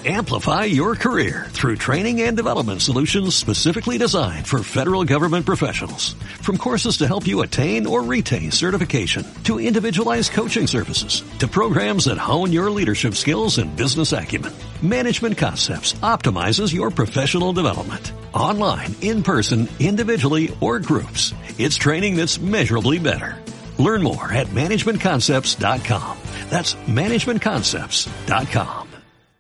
Amplify your career through training and development solutions specifically designed for federal government professionals. From courses to help you attain or retain certification, to individualized coaching services, to programs that hone your leadership skills and business acumen, Management Concepts optimizes your professional development. Online, in person, individually, or groups, it's training that's measurably better. Learn more at managementconcepts.com. That's managementconcepts.com.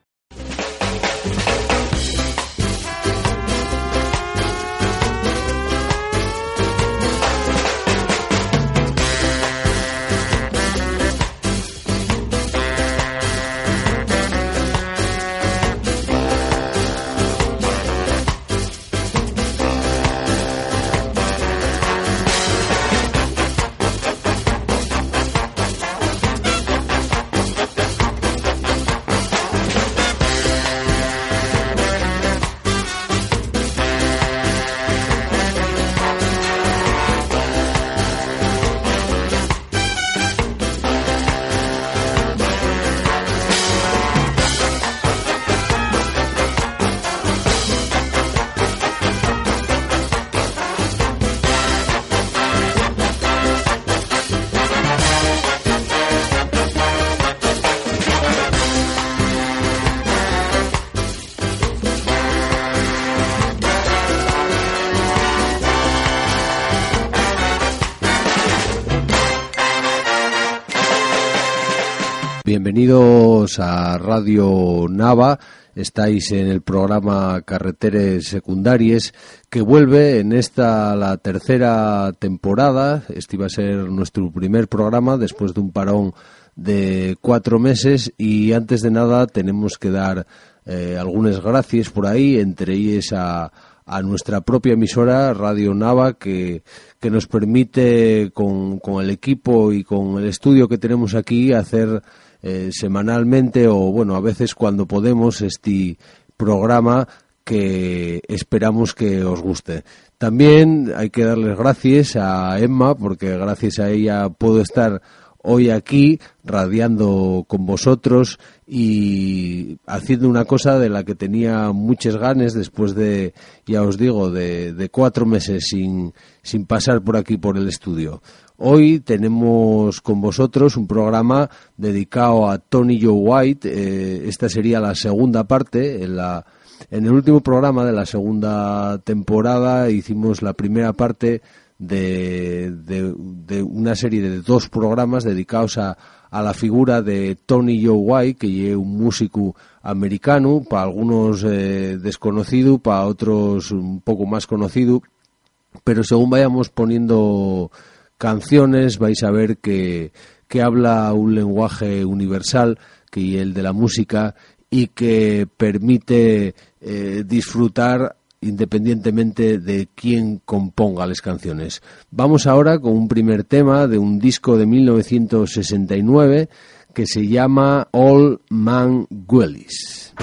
Bienvenidos a Radio Nava. Estáis en el programa Carreteres Secundàries, que vuelve en esta la tercera temporada. Este iba a ser nuestro primer programa después de un parón de 4 meses, y antes de nada tenemos que dar algunas gracias por ahí, entre ellas a nuestra propia emisora Radio Nava, que nos permite con el equipo y con el estudio que tenemos aquí hacer semanalmente, o bueno, a veces cuando podemos, este programa que esperamos que os guste. También hay que darles gracias a Emma, porque gracias a ella puedo estar hoy aquí radiando con vosotros y haciendo una cosa de la que tenía muchas ganas después de, ya os digo, de 4 meses sin pasar por aquí por el estudio. Hoy tenemos con vosotros un programa dedicado a Tony Joe White. Esta sería la segunda parte. En el último programa de la segunda temporada hicimos la primera parte de una serie de 2 programas dedicados a la figura de Tony Joe White, que es un músico americano, para algunos desconocido, para otros un poco más conocido, pero según vayamos poniendo canciones vais a ver que habla un lenguaje universal, que es el de la música, y que permite disfrutar independientemente de quién componga las canciones. Vamos ahora con un primer tema de un disco de 1969 que se llama Old Man Willis.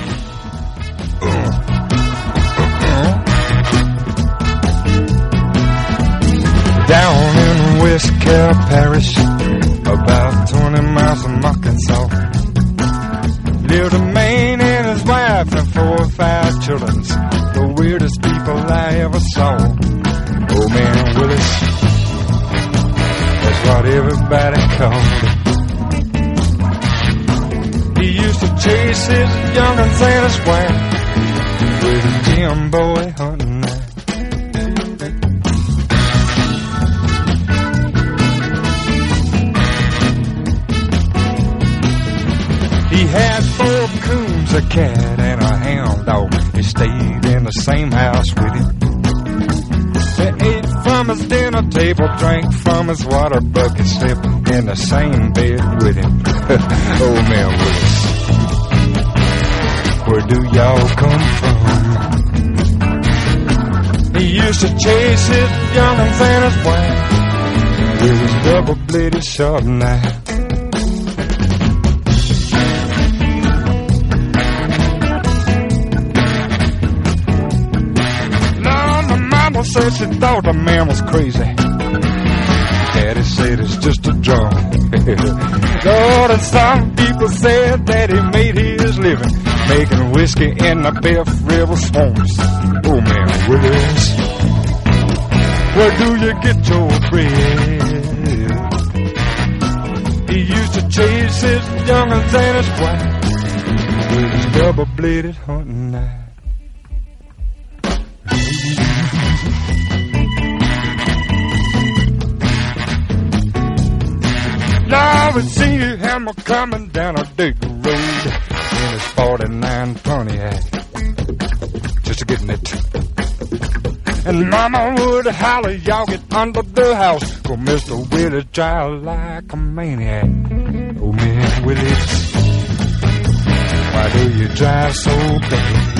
Down in West Carroll Parish, about 20 miles from Arkansas, lived a man and his wife and 4 or 5 children, the weirdest people I ever saw. Old Man Willis, that's what everybody called him. He used to chase his young'uns and his wife with a Jim boy hunting knife. He had 4 coons, a cat, and a hound dog. He stayed in the same house with him. They ate from his dinner table, drank from his water bucket, slept in the same bed with him. Old Man Willis, where do y'all come from? He used to chase his young'uns and his wife with his double-bladed sharp knife. Said she thought the man was crazy. Daddy said it's just a drum. Lord, and some people said that he made his living making whiskey in the Biff River swamps. Oh man, Willis, where do you get your bread? He used to chase his young'uns and his wife with his double-bladed hunting knife. Now I see him coming down a dirt road in his 49 Pontiac, just getting it. And Mama would holler, y'all get under the house, for Mr. Willie drive like a maniac. Oh man, Willie, why do you drive so bad?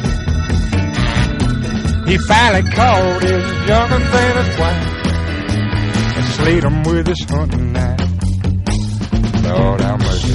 He finally called his young'uns and his wife and slayed him with his hunting knife. Lord have mercy.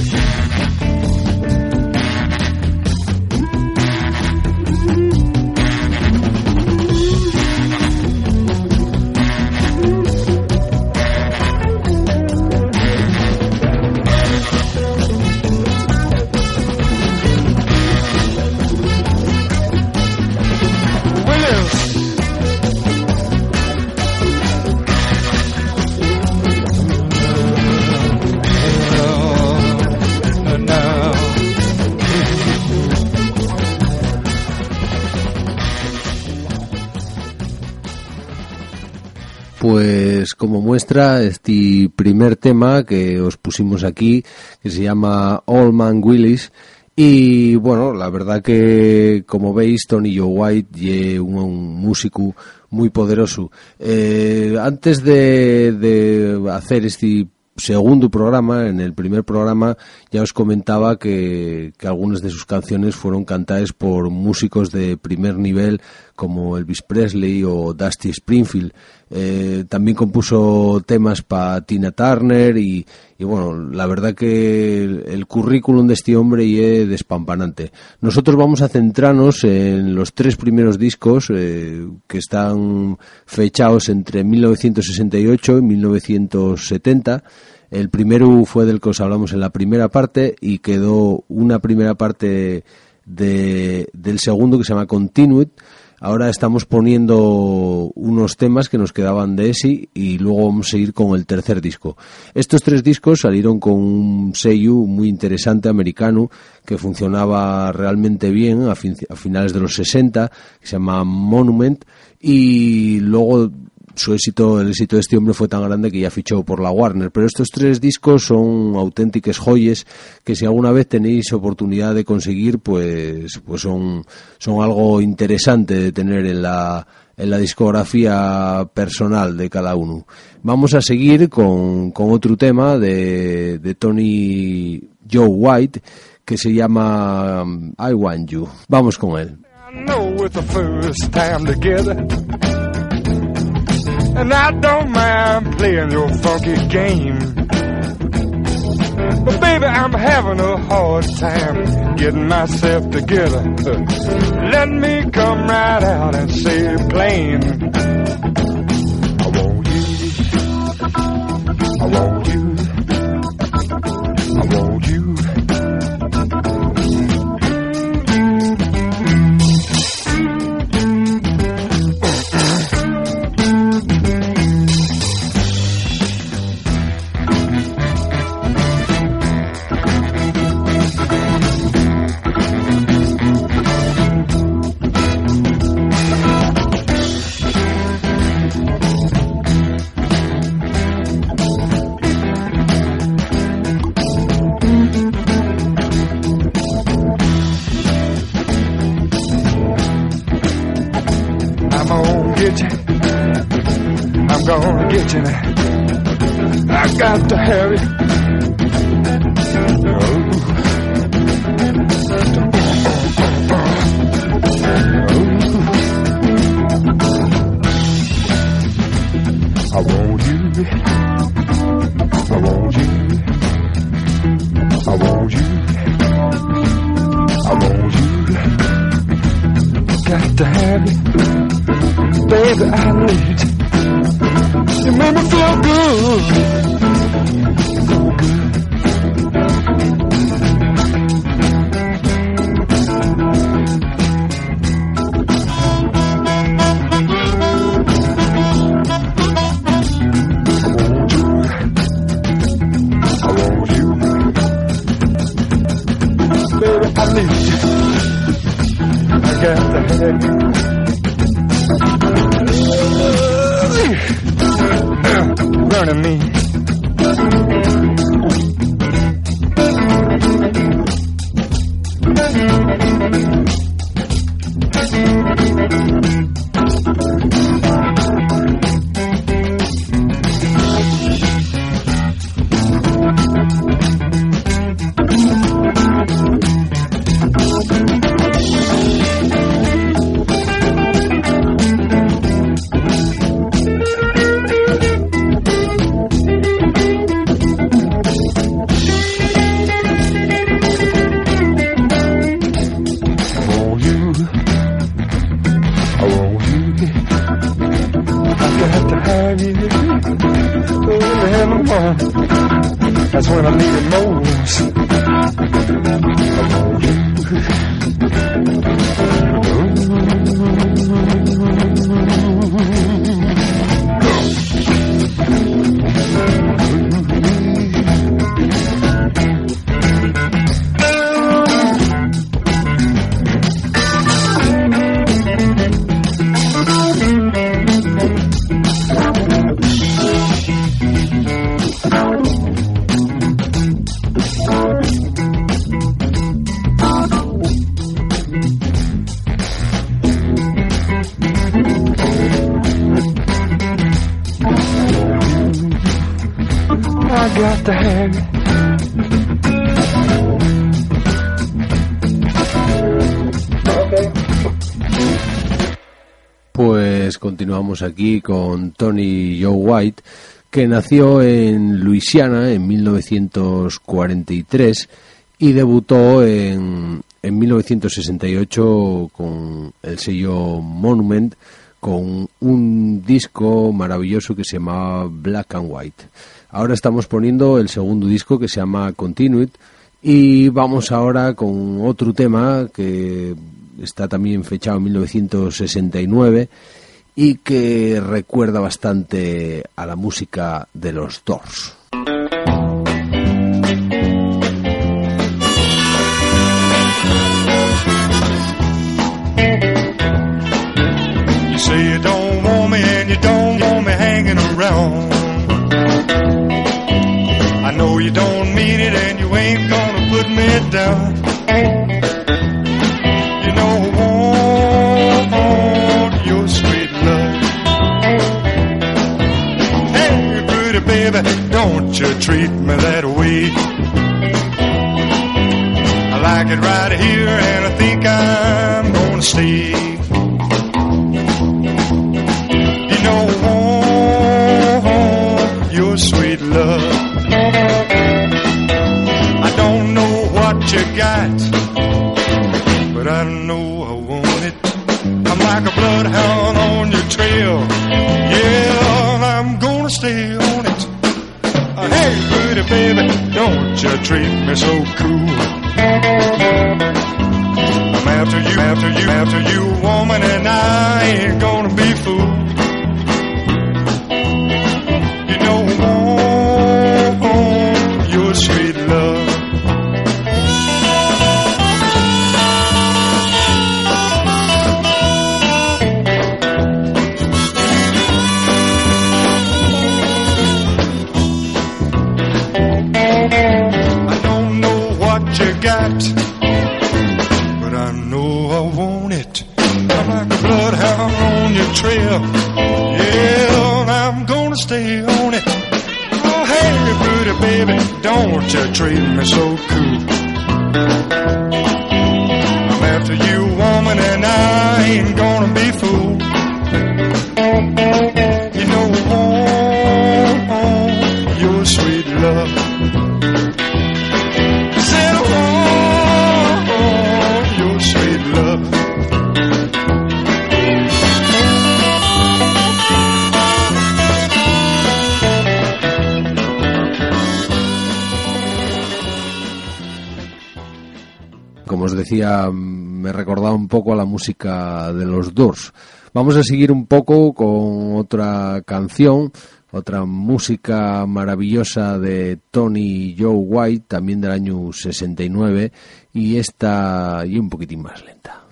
Pues como muestra este primer tema que os pusimos aquí, que se llama Old Man Willis, y bueno, la verdad que como veis Tony Joe White es un músico muy poderoso. Antes de hacer este segundo programa, en el primer programa ya os comentaba que algunas de sus canciones fueron cantadas por músicos de primer nivel como Elvis Presley o Dusty Springfield. También compuso temas para Tina Turner y bueno, la verdad que el currículum de este hombre es despampanante. Nosotros vamos a centrarnos en los tres primeros discos que están fechados entre 1968 y 1970. El primero fue del que os hablamos en la primera parte y quedó una primera parte del segundo que se llama Continued. Ahora estamos poniendo unos temas que nos quedaban de ese y luego vamos a ir con el tercer disco. Estos tres discos salieron con un sello muy interesante americano que funcionaba realmente bien a finales de los 60, que se llama Monument, y luego el éxito de este hombre fue tan grande que ya fichó por la Warner. Pero estos tres discos son auténticas joyas que si alguna vez tenéis oportunidad de conseguir, pues son algo interesante de tener en la discografía personal de cada uno. Vamos a seguir con otro tema de Tony Joe White que se llama I Want You. Vamos con él. I know it's the first time together, and I don't mind playing your funky game. But baby, I'm having a hard time getting myself together. Let me come right out and say it plain. I want you. I want you. I want you. I'm gonna get you now. I got to hurry. I want you. I want you. I want you. I want you. Got to have it. Baby, I need you. You make me feel good. I need you. I got to have you. Burning me. That's when I need it most. Pues continuamos aquí con Tony Joe White, que nació en Luisiana en 1943 y debutó en 1968 con el sello Monument, con un disco maravilloso que se llamaba Black and White. Ahora estamos poniendo el segundo disco, que se llama Continued, y vamos ahora con otro tema que está también fechado en 1969 y que recuerda bastante a la música de los Doors. You say you don't want me and you don't want me hanging around. I know you don't mean it and you ain't gonna put me down. You know I want your sweet love. Hey, pretty baby, don't you treat me that way. I like it right here and I think I'm gonna stay. You know I want your sweet love. I don't know what you got, but I know I want it. I'm like a bloodhound on your trail. Yeah, I'm gonna stay on it. Hey, pretty baby, don't you treat me so cool. I'm after you, woman, and I ain't gonna be fooled. You know I want your sweet love. But I know I want it. I'm like a bloodhound on your trail. Yeah, I'm gonna stay on it. Oh, hey, pretty baby, don't you treat me so cool. I'm after you, woman, and I ain't gonna be fooled. You know I want your sweet love. Como os decía, me recordaba un poco a la música de los Doors. Vamos a seguir un poco con otra canción, otra música maravillosa de Tony Joe White, también del año 69, y esta y un poquitín más lenta.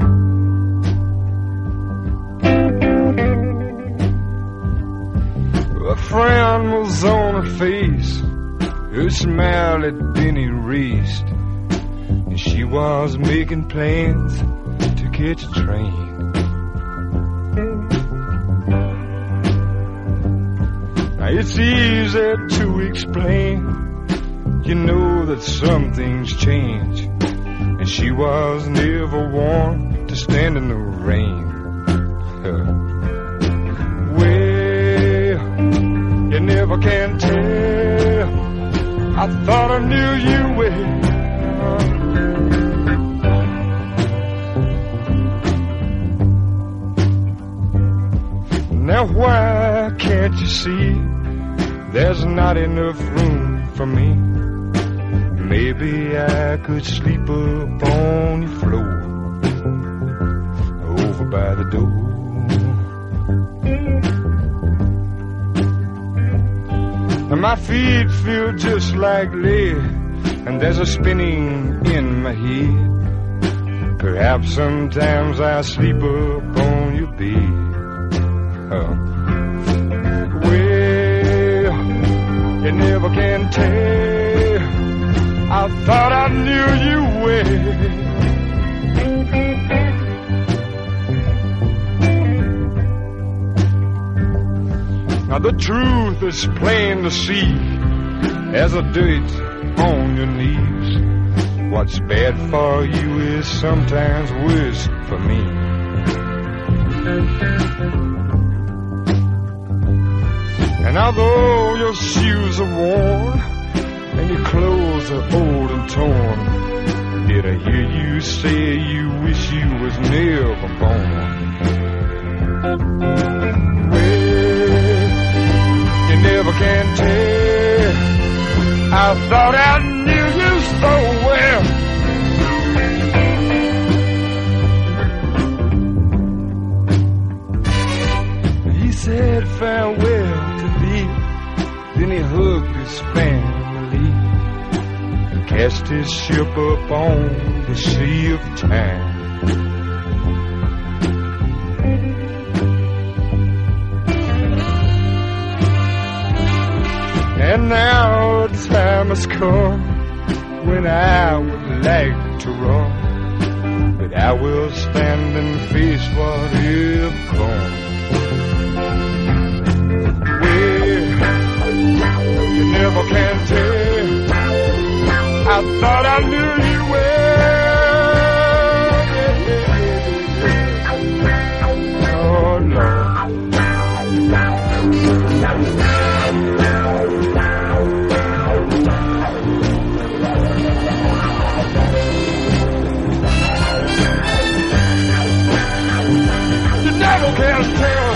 A frown was on her face, her smile had been erased, and she was making plans to catch a train. Now it's easy to explain, you know that some things change, and she was never one to stand in the rain. Well, you never can tell, I thought I knew you well. Now why can't you see there's not enough room for me? Maybe I could sleep up on your floor over by the door. And my feet feel just like lead, and there's a spinning in my head. Perhaps sometimes I sleep up on your bed. Well, you never can tell, I thought I knew you well. Now the truth is plain to see, as a dirt on your knees. What's bad for you is sometimes worse for me. And although your shoes are worn and your clothes are old and torn, did I hear you say you wish you was never born? Well, you never can tell, I thought I knew you so well. He said farewell to thee, then he hugged his family and cast his ship up on the sea of time. And now the time has come when I would like to run, but I will stand and face whatever comes. You never can tell, I thought I knew you well. Oh Lord. You never can tell.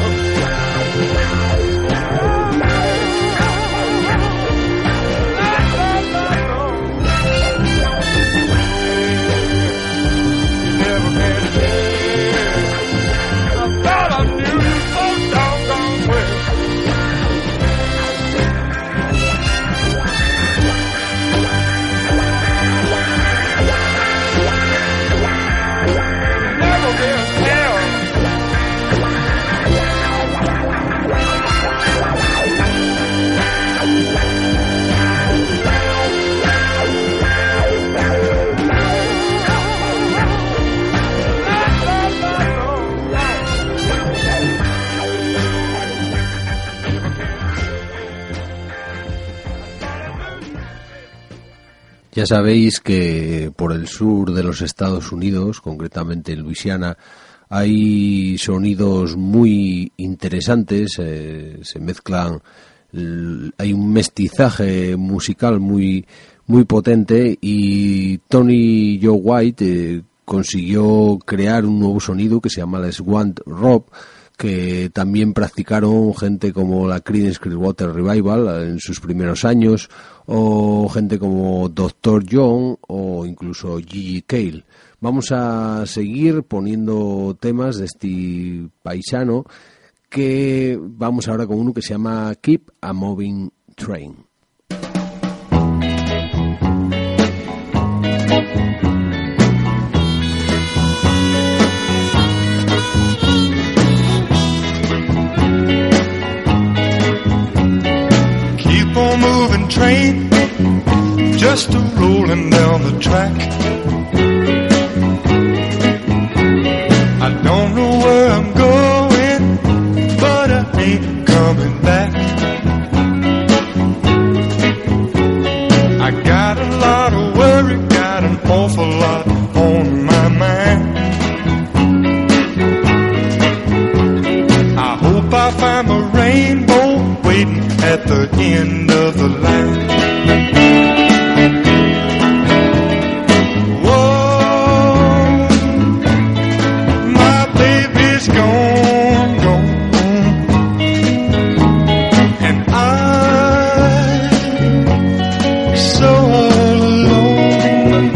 Ya sabéis que por el sur de los Estados Unidos, concretamente en Luisiana, hay sonidos muy interesantes, se mezclan, hay un mestizaje musical muy potente, y Tony Joe White consiguió crear un nuevo sonido que se llama la Swamp Rock, que también practicaron gente como la Creedence Clearwater Revival en sus primeros años, o gente como Dr. John o incluso Gigi Cale. Vamos a seguir poniendo temas de este paisano, que vamos ahora con uno que se llama Keep a Moving Train. moving train, just a rolling down the track. I don't know where I'm going, but I ain't coming back. I got a lot of worry, got an awful lot on my mind. I hope I find the rainbow waiting at the end of the line. Whoa, my baby's gone, gone, and I'm so alone.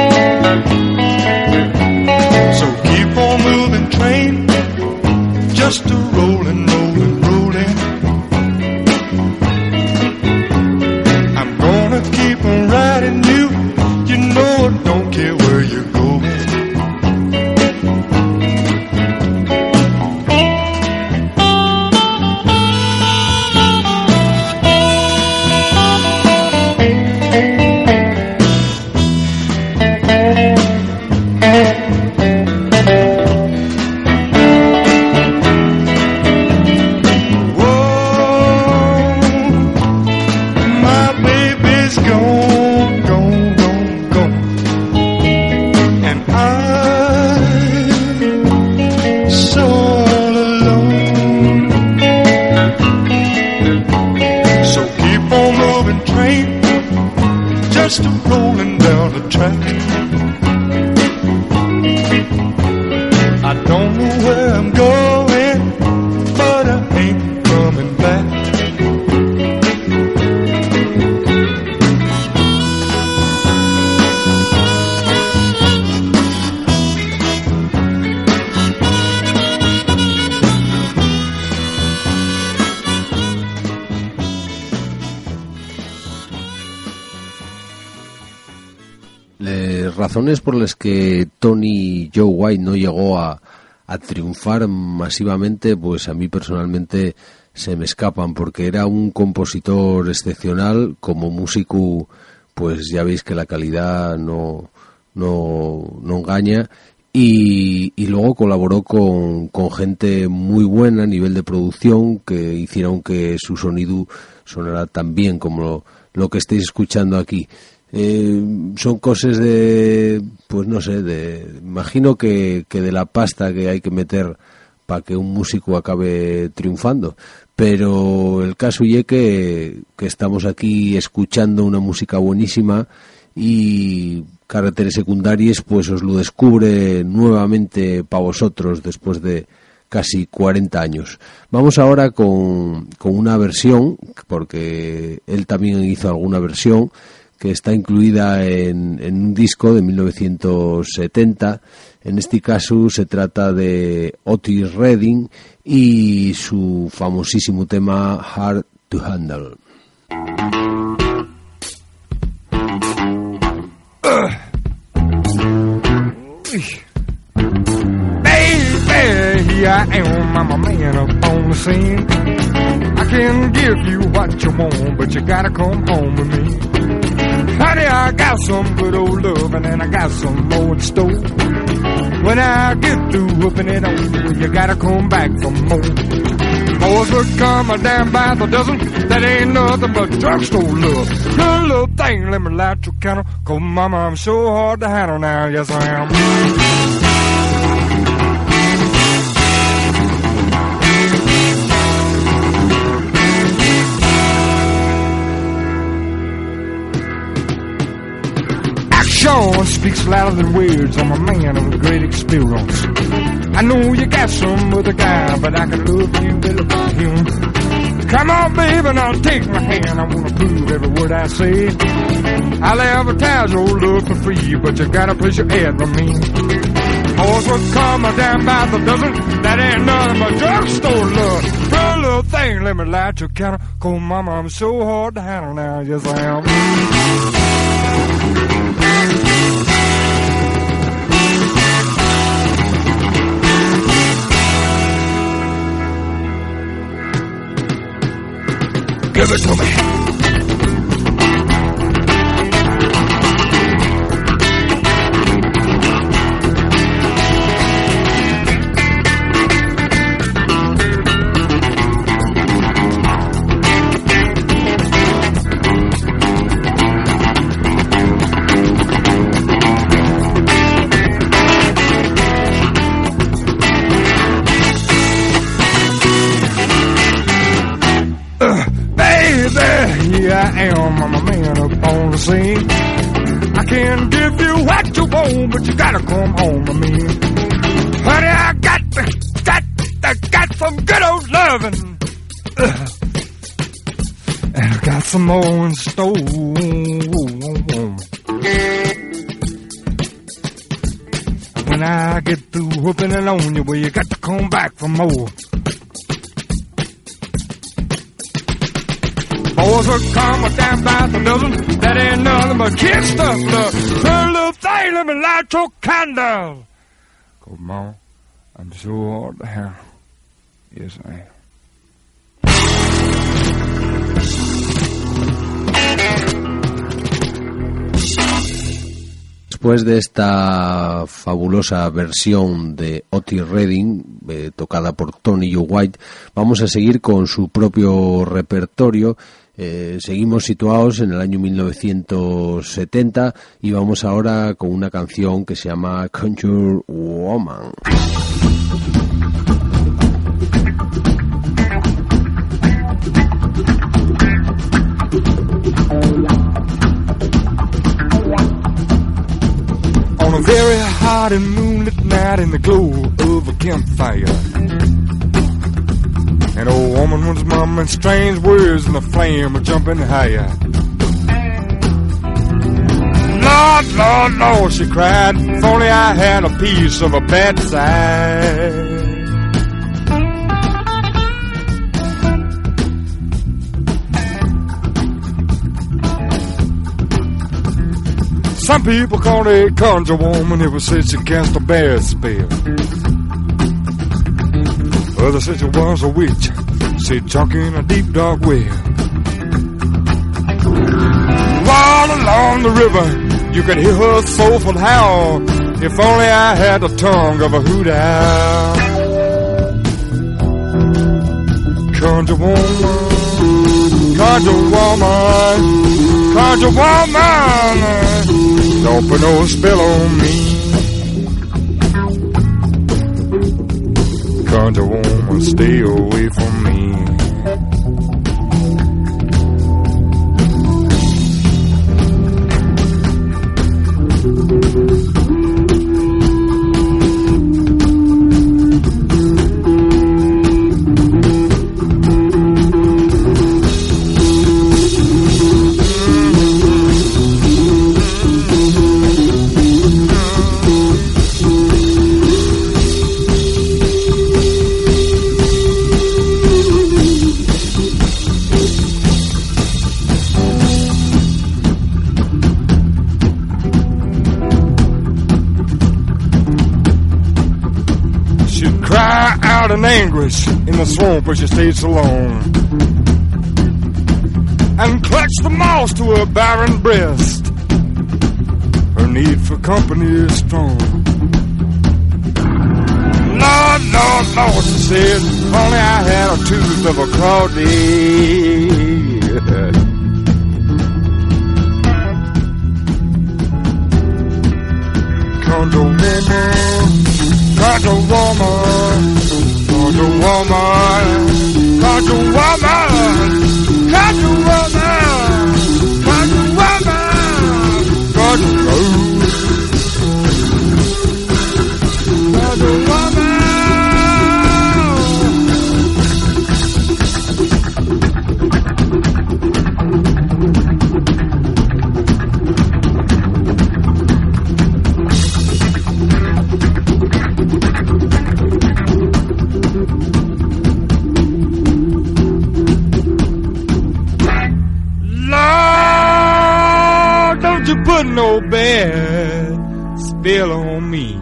So keep on moving, train, just a rolling, rolling, rolling. I'm gonna keep on riding you, you know I don't care where you're going. Just a rolling down the track. I don't know where I'm going, but I ain't coming back. Razones por las que Tony Joe White no llegó a triunfar masivamente, pues a mí personalmente se me escapan, porque era un compositor excepcional. Como músico, pues ya veis que la calidad no engaña, y luego colaboró con gente muy buena a nivel de producción, que hicieron que su sonido sonara tan bien como lo que estáis escuchando aquí. Son cosas de, pues no sé, imagino que de la pasta que hay que meter para que un músico acabe triunfando, pero el caso es que estamos aquí escuchando una música buenísima, y Carreteres Secundarias pues os lo descubre nuevamente para vosotros después de casi 40 años. Vamos ahora con una versión, porque él también hizo alguna versión que está incluida en un disco de 1970. En este caso se trata de Otis Redding y su famosísimo tema Hard to Handle. Baby, here I am, I'm a man up on the scene. I can give you what you want, but you gotta come home with me. Honey, I got some good old loving and I got some more in store. When I get through whooping it on you, you gotta come back for more. Boys would come a damn by the dozen, that ain't nothing but drugstore love. Good little thing, let me light your candle, 'cause mama, I'm so hard to handle now, yes I am. Action speaks louder than words. I'm a man of great experience. I know you got some other guy, but I can love you better than him. Come on, baby, now take my hand. I wanna prove every word I say. I'll advertise your love for free, but you gotta place your ad with me. Boys will come down by the dozen, that ain't nothing but drugstore love. For a little thing, let me light your counter, 'cause mama, I'm so hard to handle now, yes I am. Give it to me. home, but you gotta come home to me. Honey, I got some good old loving. And I got some more in store. When I get through whooping it on you, well, you got to come back for more. Boys will come down by the dozen. That ain't nothing but kid stuff, love. Hey, little thing, let me light your candle. Come on, I'm sure all the hell. Yes, I am. Después de esta fabulosa versión de Otis Redding, tocada por Tony Joe White, vamos a seguir con su propio repertorio. Seguimos situados en el año 1970 y vamos ahora con una canción que se llama Country Woman. On a very hot and moonlit night in the glow of a campfire, an old woman was mumbling strange words and the flame was jumping higher. Lord, Lord, Lord, she cried, if only I had a piece of a bad side. Some people call her a conjure woman if it said she cast a bad spell. Others said she was a witch, she drunk in a deep dark well. All along the river, you could hear her soulful howl. If only I had the tongue of a hoot owl. Conjure woman, conjure woman, conjure woman. Don't put no spell on me. Conjure woman, stay away from me. In anguish in the swamp where she stayed so long, and clutched the moss to her barren breast. Her need for company is strong. Lord, Lord, Lord, she said, if only I had a tooth of a crawdad. Conjure woman, conjure woman, conjure woman, conjure woman, conjure woman, conjure woman, conjure woman, conjure woman. Put no bad spell on me.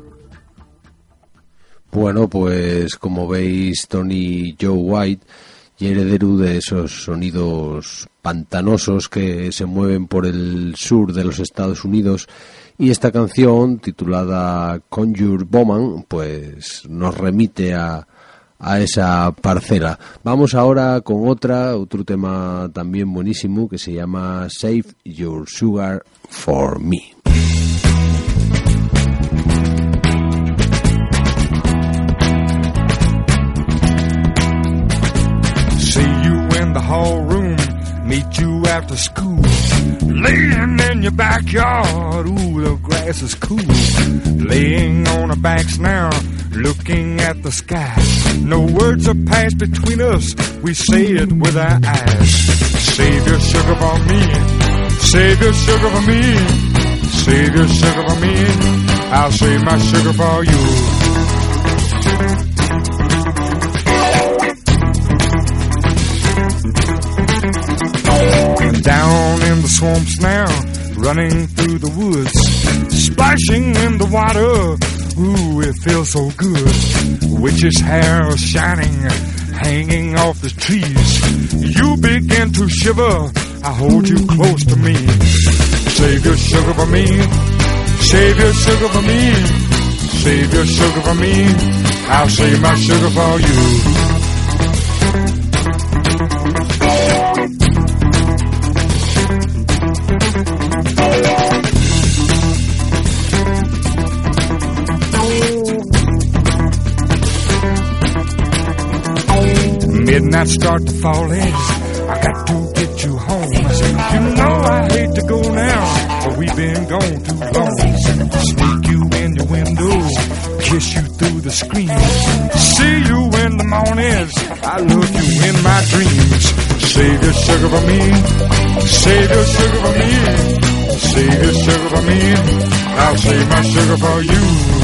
Bueno, pues como veis, Tony Joe White y heredero de esos sonidos pantanosos que se mueven por el sur de los Estados Unidos. Y esta canción, titulada Conjure Bowman, pues nos remite a esa parcela. Vamos ahora con otro tema también buenísimo que se llama Save Your Sugar for Me. See you in the hall room, meet you after school, laying in your backyard, ooh, the grass is cool, laying on our backs now, looking at the sky. No words are passed between us, we say it with our eyes. Save your sugar for me, save your sugar for me, save your sugar for me, I'll save my sugar for you. Down in the swamps now, running through the woods, splashing in the water, ooh, it feels so good. Witch's hair is shining, hanging off the trees. You begin to shiver, I hold you close to me. Save your sugar for me, save your sugar for me, save your sugar for me, I'll save my sugar for you. Midnight start to fall in, I got to get you home. You know I hate to go now, but we've been gone too long. Sneak you in your window, kiss you through the screen, see you in the mornings, I love you in my dreams. Save your sugar for me, save your sugar for me, save your sugar for me, I'll save my sugar for you.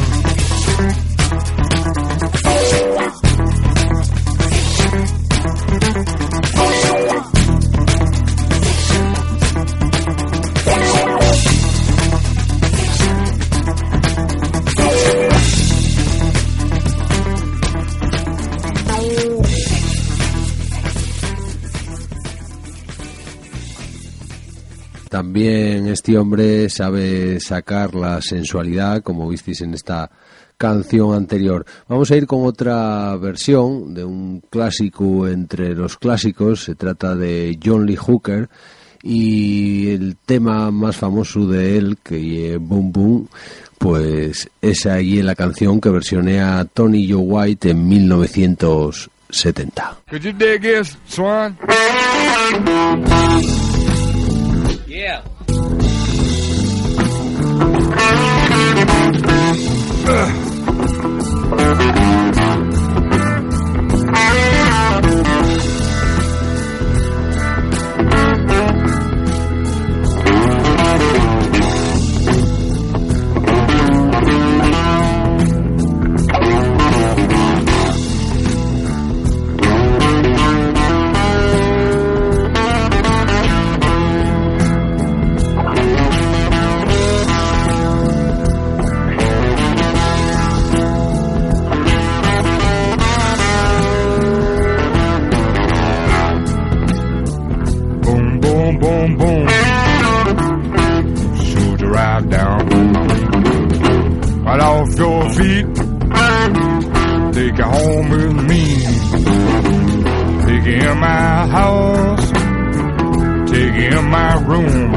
También este hombre sabe sacar la sensualidad, como visteis en esta canción anterior. Vamos a ir con otra versión de un clásico entre los clásicos. Se trata de John Lee Hooker y el tema más famoso de él, que es Boom Boom, pues es ahí en la canción que versionea Tony Joe White en 1970. Could you dig this, Swan? Yeah. Take you home with me. Take you in my house. Take you in my room.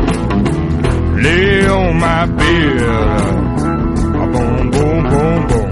Lay on my bed. Boom, boom, boom, boom.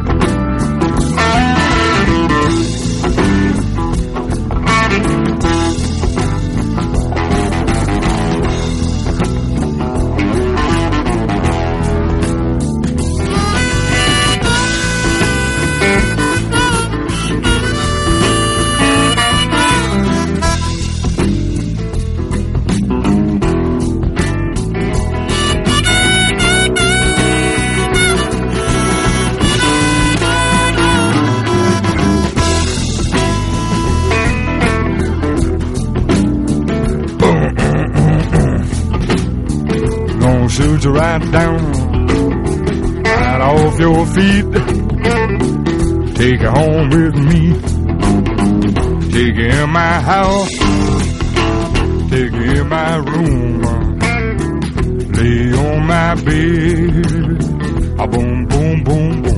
Shoot you right down, right off your feet. Take you home with me. Take it in my house, take it in my room, lay on my bed, a boom, boom, boom, boom.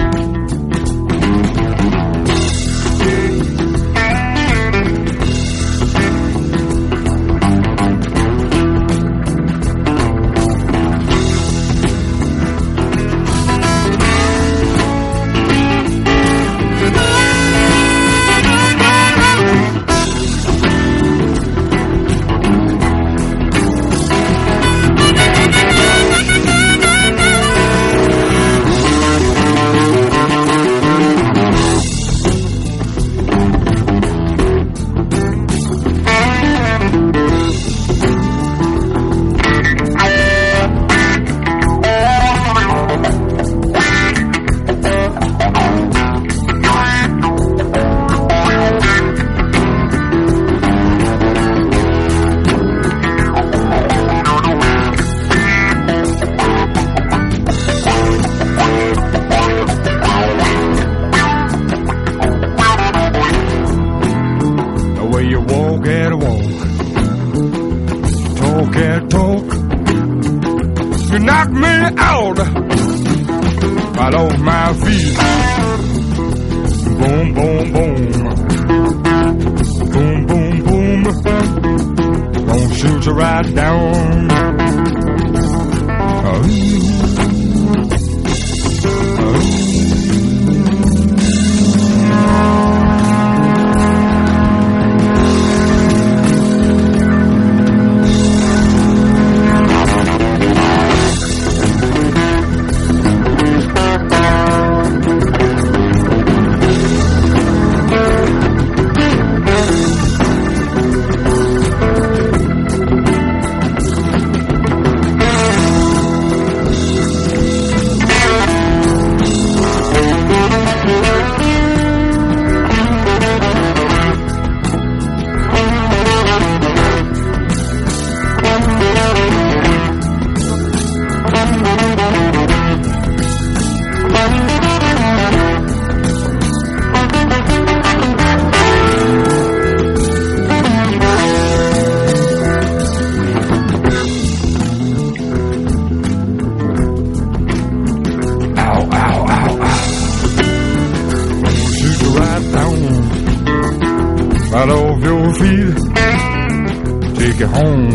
Take it home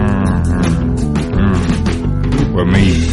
with me.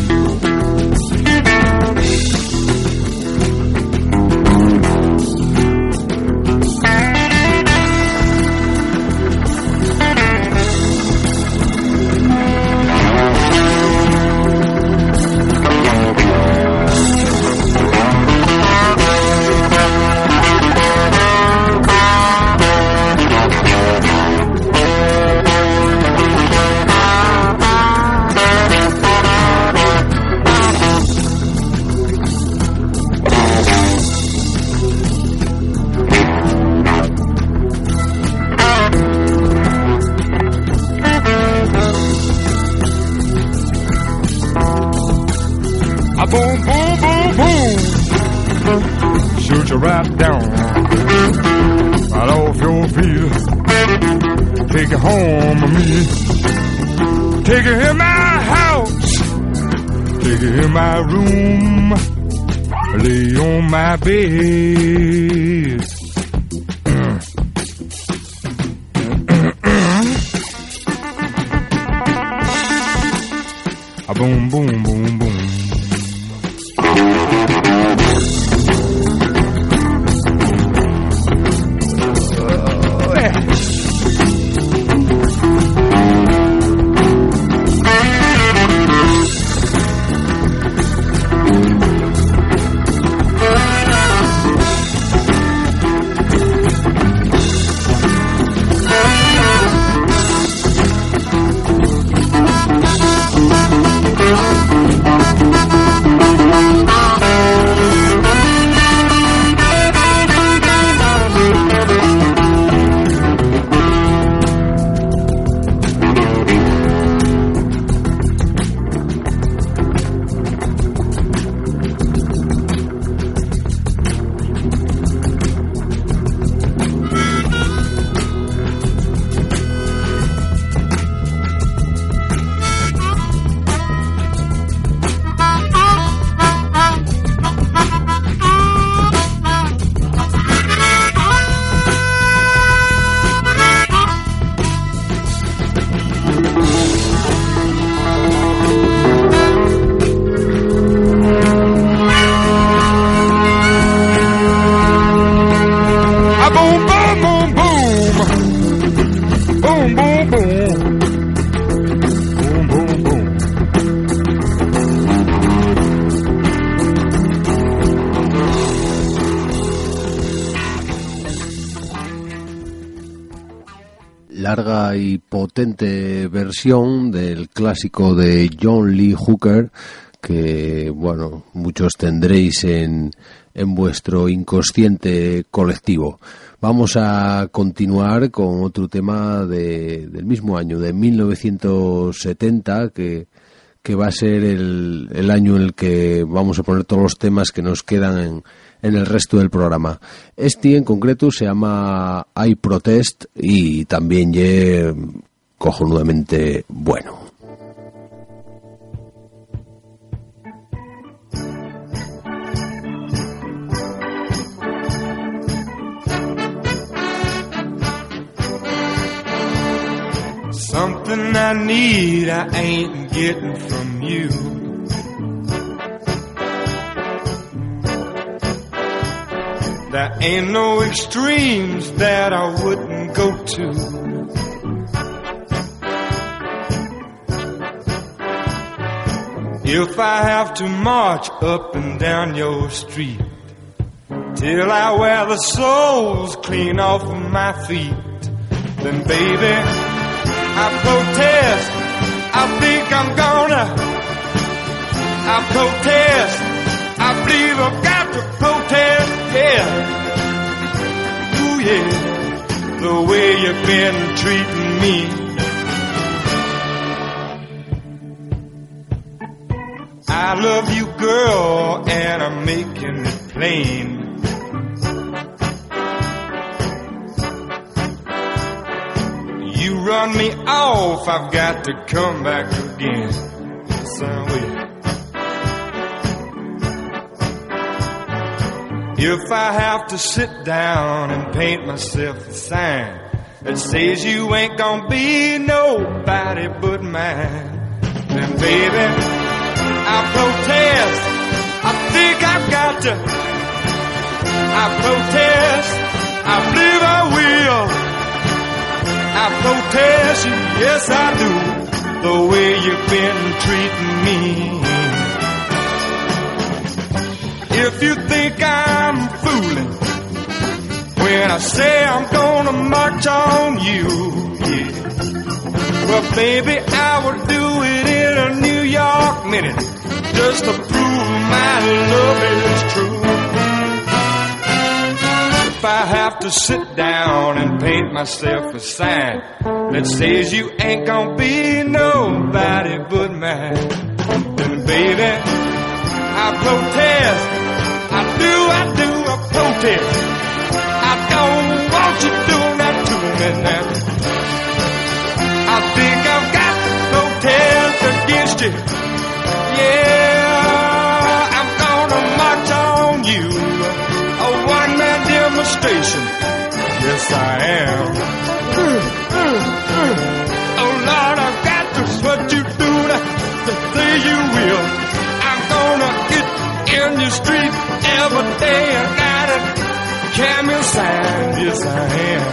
Boom, boom, boom, boom. Shoot you right down, right off your feet. Take it home with me. Take it in my house. Take it in my room. Lay on my bed. Boom, boom, boom, boom. boom, boom, boom. Boom, boom, boom. Larga y potente versión del clásico de John Lee Hooker que, bueno, muchos tendréis en vuestro inconsciente colectivo. Vamos a continuar con otro tema del mismo año, de 1970, que va a ser el año en el que vamos a poner todos los temas que nos quedan en el resto del programa. Este en concreto se llama I Protest y también es cojonudamente bueno. Something I need I ain't getting from you. There ain't no extremes that I wouldn't go to. If I have to march up and down your street till I wear the soles clean off of my feet, then baby, I protest. I think I'm gonna. I protest. I believe I've got to protest. Yeah. Ooh yeah. The way you've been treating me. I love you, girl, and I'm making it plain. You run me off, I've got to come back again. Some way. If I have to sit down and paint myself a sign that says you ain't gonna be nobody but mine, then baby, I protest. I think I've got to. I protest. I believe I will. I protest you, yes I do, the way you've been treating me. If you think I'm fooling when I say I'm gonna march on you, yeah. Well baby, I would do it in a New York minute, just to prove my love is true. If I have to sit down and paint myself a sign that says you ain't gonna be nobody but mine, then baby, I protest. I protest. I don't want you doing that to me now. I think I've got to protest against you. Yeah, I'm gonna march on you. A one-man demonstration. Yes, I am. Oh, Lord, I've got to what you do to say you will. I'm gonna get in your street every day. I got a camel sign. Yes, I am.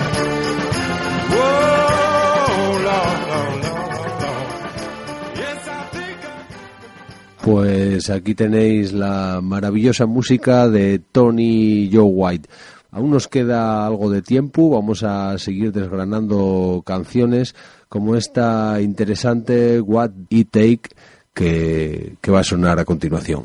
Whoa, Lord, Lord, Lord, Lord. Yes, I think Pues aquí tenéis la maravillosa música de Tony Joe White. Aún nos queda algo de tiempo, vamos a seguir desgranando canciones como esta interesante What It Take que va a sonar a continuación.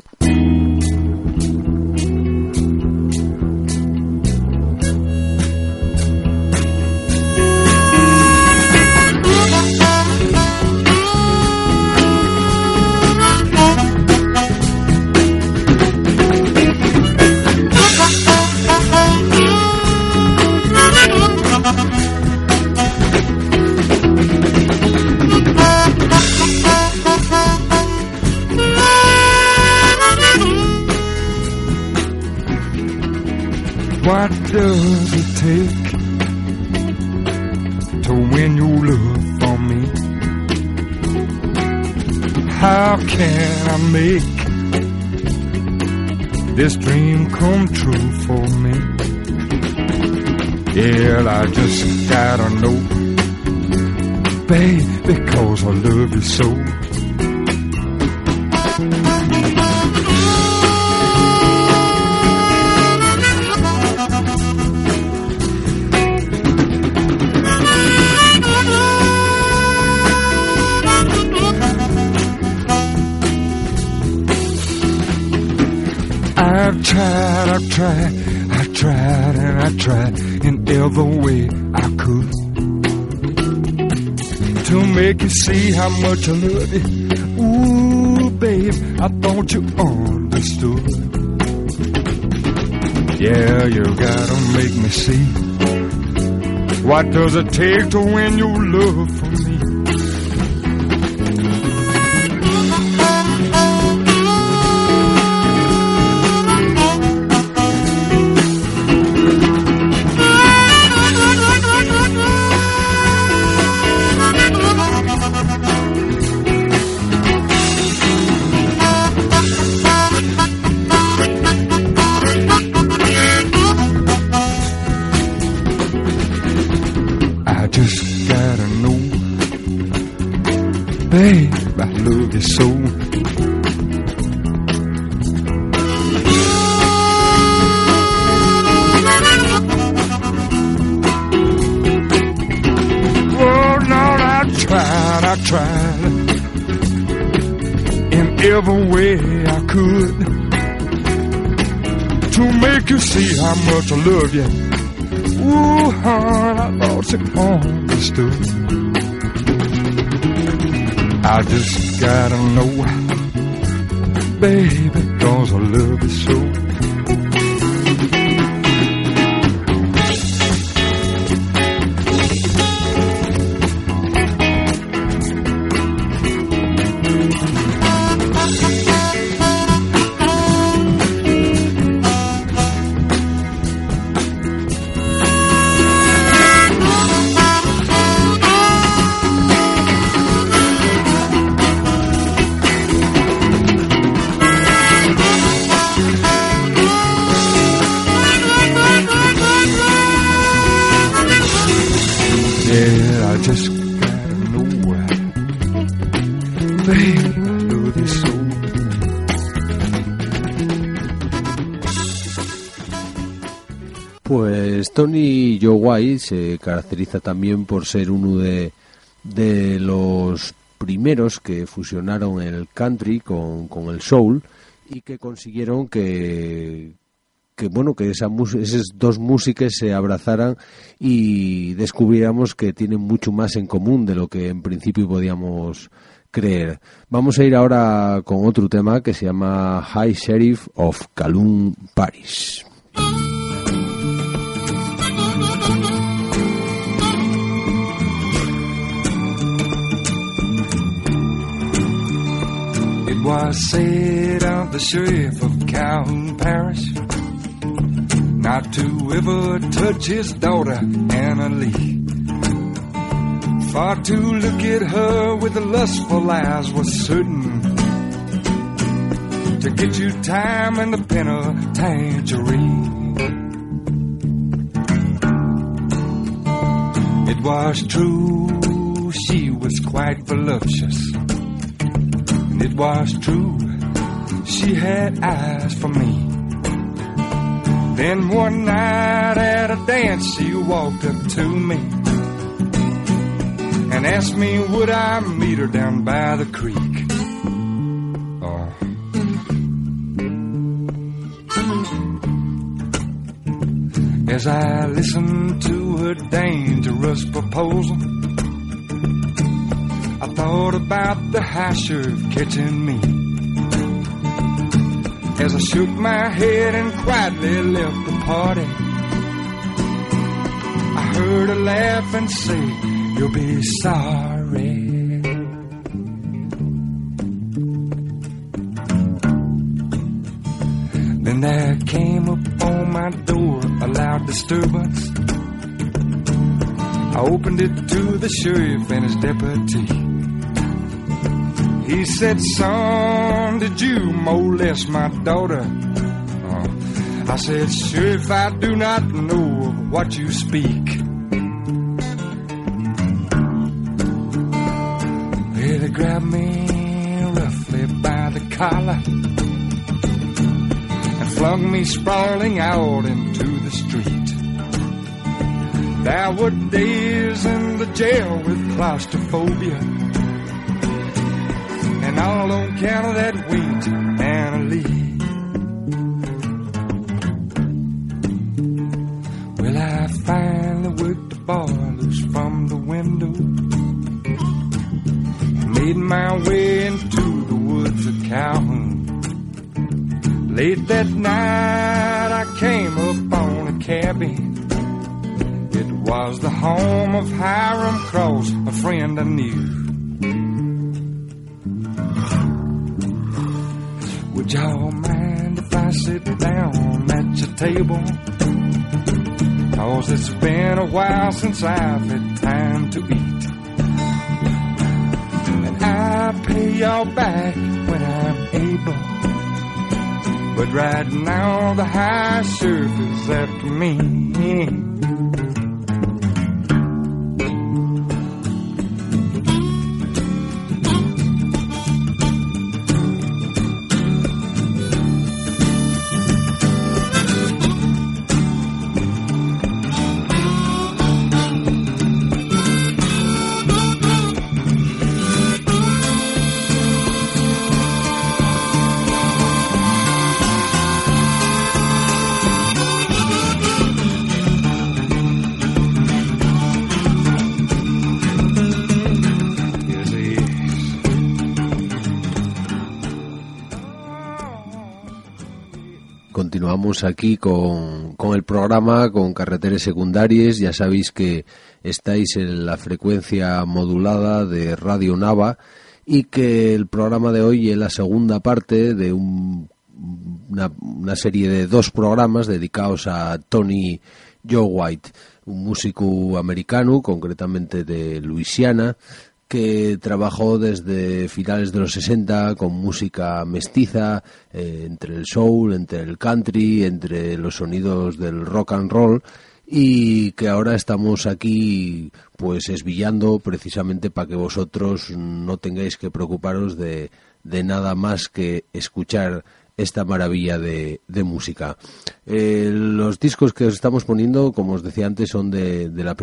What does it take to win your love for me? How can I make this dream come true for me? Yeah, I just gotta know babe, because I love you so. I've tried in every way I could to make you see how much I love you. Ooh, babe, I thought you understood. Yeah, you gotta make me see. What does it take to win your love from me? Babe, I love you so. Oh, Lord, I tried in every way I could to make you see how much I love you. Ooh, hon, I thought you understood. I just gotta know, baby, 'cause I love you so. Pues Tony Joe White se caracteriza también por ser uno de los primeros que fusionaron el country con el soul y que consiguieron que esas dos músicas se abrazaran y descubriéramos que tienen mucho más en común de lo que en principio podíamos creer. Vamos a ir ahora con otro tema que se llama High Sheriff of Kowloon Parish. It was said of the sheriff of Kowloon Parish not to ever touch his daughter Anna Lee. For to look at her with the lustful eyes was certain to get you time in the penitentiary. It was true, she was quite voluptuous. And it was true, she had eyes for me. Then one night at a dance, she walked up to me and asked me would I meet her down by the creek. Oh. As I listened to her dangerous proposal, I thought about the high sheriff catching me. As I shook my head and quietly left the party, I heard her laugh and say, "You'll be sorry." Then there came upon my door a loud disturbance. I opened it to the sheriff and his deputy. He said, "Son, did you molest my daughter?" I said, "Sheriff, I do not know of what you speak." grabbed me roughly by the collar and flung me sprawling out into the street. There were days in the jail with claustrophobia, and all on account of that weight and a lead. Well, I finally worked the bar loose from the window, made my way into the woods of Calhoun. Late that night I came upon a cabin. It was the home of Hiram Cross, a friend I knew. Would y'all mind if I sit down at your table? 'Cause it's been a while since I've had time to eat. I'll pay y'all back when I'm able, but right now the high surf is after me. Continuamos aquí con el programa, con Carreteres Secundàries. Ya sabéis que estáis en la frecuencia modulada de Radio Nava y que el programa de hoy es la segunda parte de una serie de 2 programas dedicados a Tony Joe White, un músico americano, concretamente de Luisiana, que trabajó desde finales de los 60 con música mestiza, entre el soul, entre el country, entre los sonidos del rock and roll, y que ahora estamos aquí pues esbillando precisamente para que vosotros no tengáis que preocuparos de nada más que escuchar esta maravilla de música. Los discos que os estamos poniendo, como os decía antes, son de los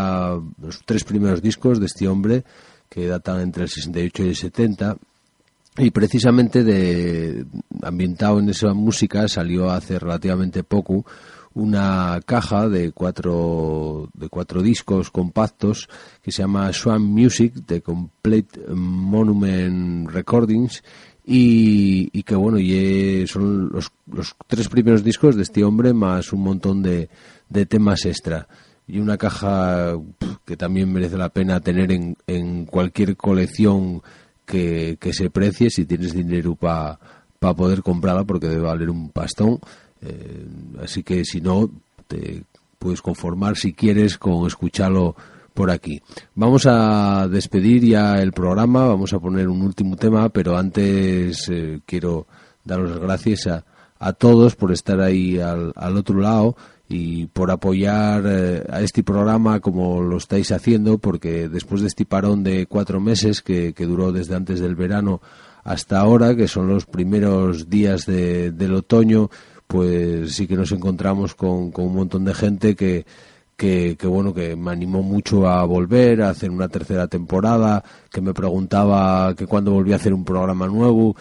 3 primeros discos de este hombre, que datan entre el 68 y el 70, y precisamente ambientado en esa música salió hace relativamente poco una caja de cuatro discos compactos que se llama Swamp Music, de Complete Monument Recordings, y que bueno, son los 3 primeros discos de este hombre más un montón de temas extra. Y una caja que también merece la pena tener en cualquier colección que se precie, si tienes dinero para poder comprarla, porque debe valer un pastón. Así que si no, te puedes conformar, si quieres, con escucharlo por aquí. Vamos a despedir ya el programa, vamos a poner un último tema, pero antes quiero daros las gracias a todos por estar ahí al otro lado y por apoyar a este programa como lo estáis haciendo, porque después de este parón de 4 meses que duró desde antes del verano hasta ahora, que son los primeros días del otoño, pues sí que nos encontramos con un montón de gente que bueno, que me animó mucho a volver a hacer una tercera temporada, que me preguntaba que cuándo volvía a hacer un programa nuevo,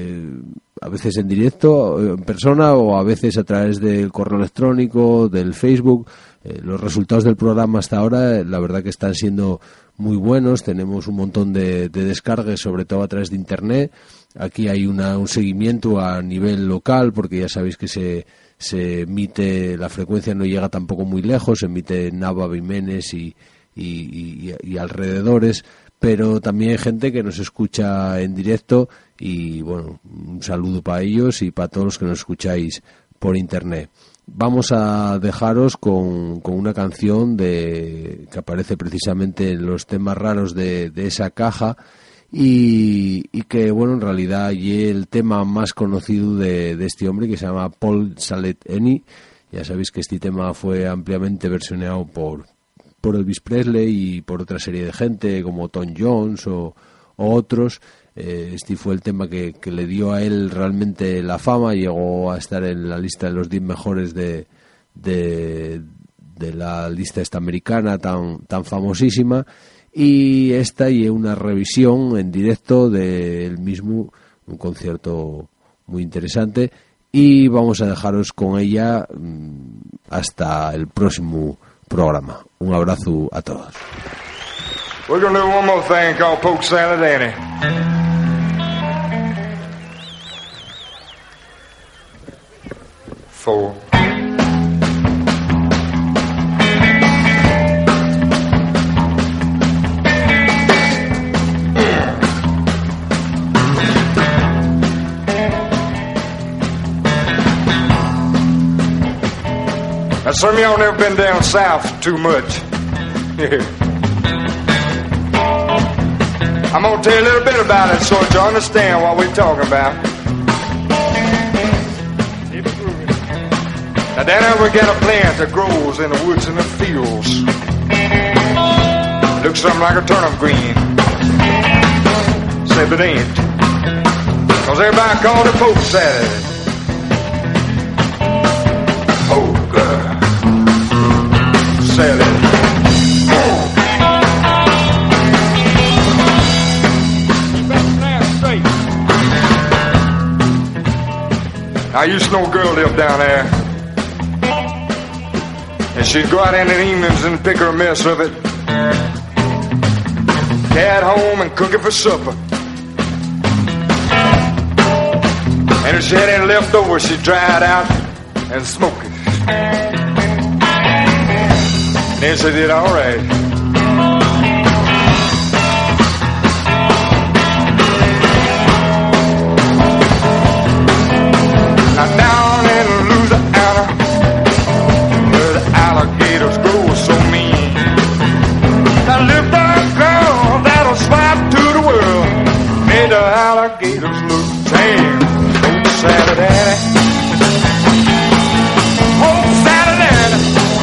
a veces en directo, en persona, o a veces a través del correo electrónico, del Facebook. Los resultados del programa hasta ahora, la verdad que están siendo muy buenos. Tenemos un montón de descargas, sobre todo a través de internet. Aquí hay un seguimiento a nivel local, porque ya sabéis que se emite, la frecuencia no llega tampoco muy lejos, se emite en Nava, Vimenes y alrededores, pero también hay gente que nos escucha en directo, y bueno, un saludo para ellos y para todos los que nos escucháis por internet. Vamos a dejaros con una canción que aparece precisamente en los temas raros de esa caja, y que bueno, en realidad y el tema más conocido de este hombre, que se llama Paul Salet-Eni. Ya sabéis que este tema fue ampliamente versionado por Elvis Presley y por otra serie de gente como Tom Jones o o otros. Este fue el tema que le dio a él realmente la fama. Llegó a estar en la lista de los 10 mejores de la lista esta americana tan famosísima. Y esta y una revisión en directo del mismo, un concierto muy interesante. Y vamos a dejaros con ella hasta el próximo programa. Un abrazo a todos. We're gonna do one more thing called Poke Salad Annie. Four. Now, some of y'all never been down south too much. I'm gonna tell you a little bit about it so that you understand what we're talking about. Now down there we got a plant that grows in the woods and the fields. Looks something like a turnip green. Except it ain't. Cause everybody called it poke salad. Poke salad. I used to know a girl lived down there, and she'd go out in the evenings and pick her a mess of it, carry it home and cook it for supper. And if she had any left over, she'd dry it out and smoke it. Then she did all right. Down in Louisiana, where the alligators grow so mean, I lived a girl that'll slide to the world, made the alligators look tame. Poke salad Annie, poke salad Annie.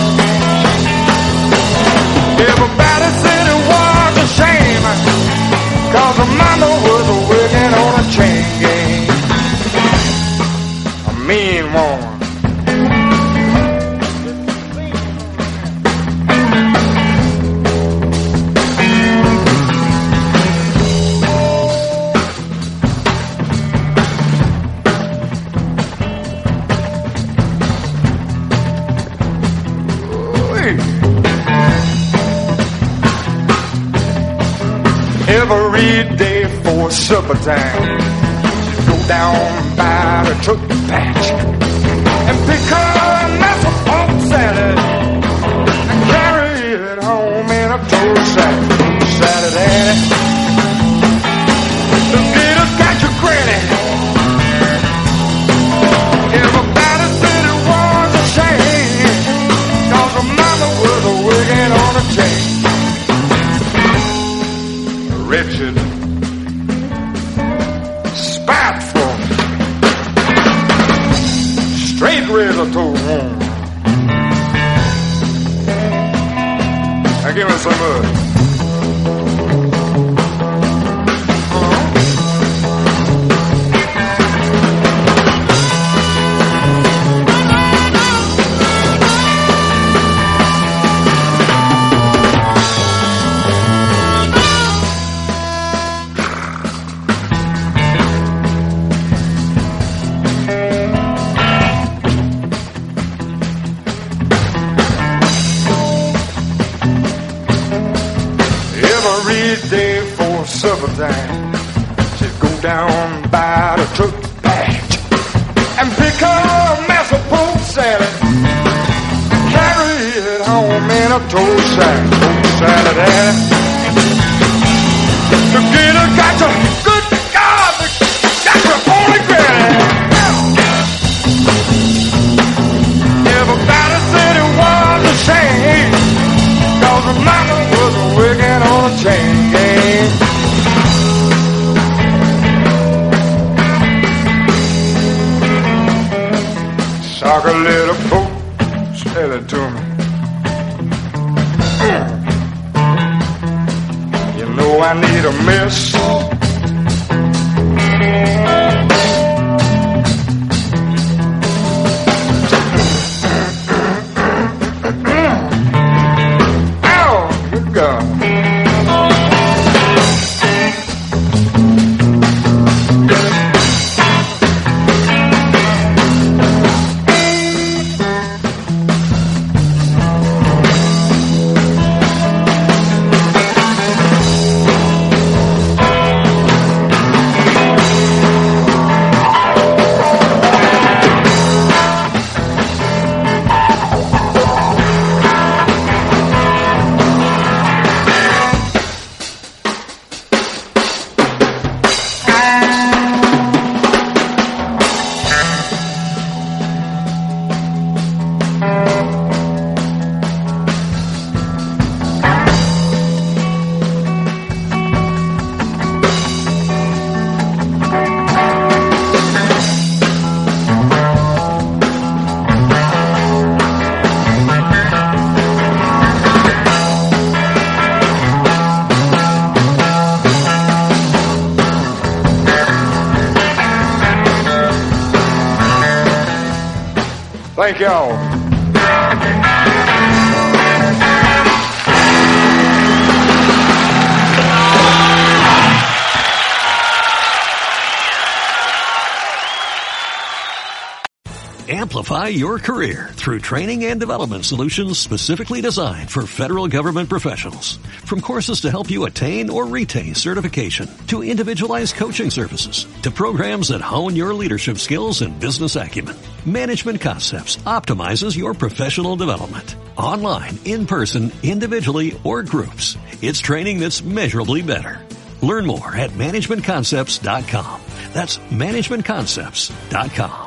Everybody said it was a shame, 'cause her mama was working on a chain gang. Mean one. Every day for supper time, go down by the truck patch and pick up a mess of poke salad and carry it home in a total sack. Poke salad Annie, the gators got your granny. Everybody said it was a shame, 'cause her mama was working on a chain. Wretched, spiteful, straight razor to one. Now give me some of it. Day for supper time, she'd go down by the truck patch and pick up a mess of poke salad and carry it home in a tow sack. Poke salad Annie, the gator got you, good God, got your pony granny. Everybody said it was a shame, 'cause her mama was working on a chain gang. Sock a little poke, tell it to me. You know I need a miss. Ow, good God. Thank y'all. Amplify your career through training and development solutions specifically designed for federal government professionals. From courses to help you attain or retain certification, to individualized coaching services, to programs that hone your leadership skills and business acumen, Management Concepts optimizes your professional development. Online, in person, individually, or groups, it's training that's measurably better. Learn more at managementconcepts.com. That's managementconcepts.com.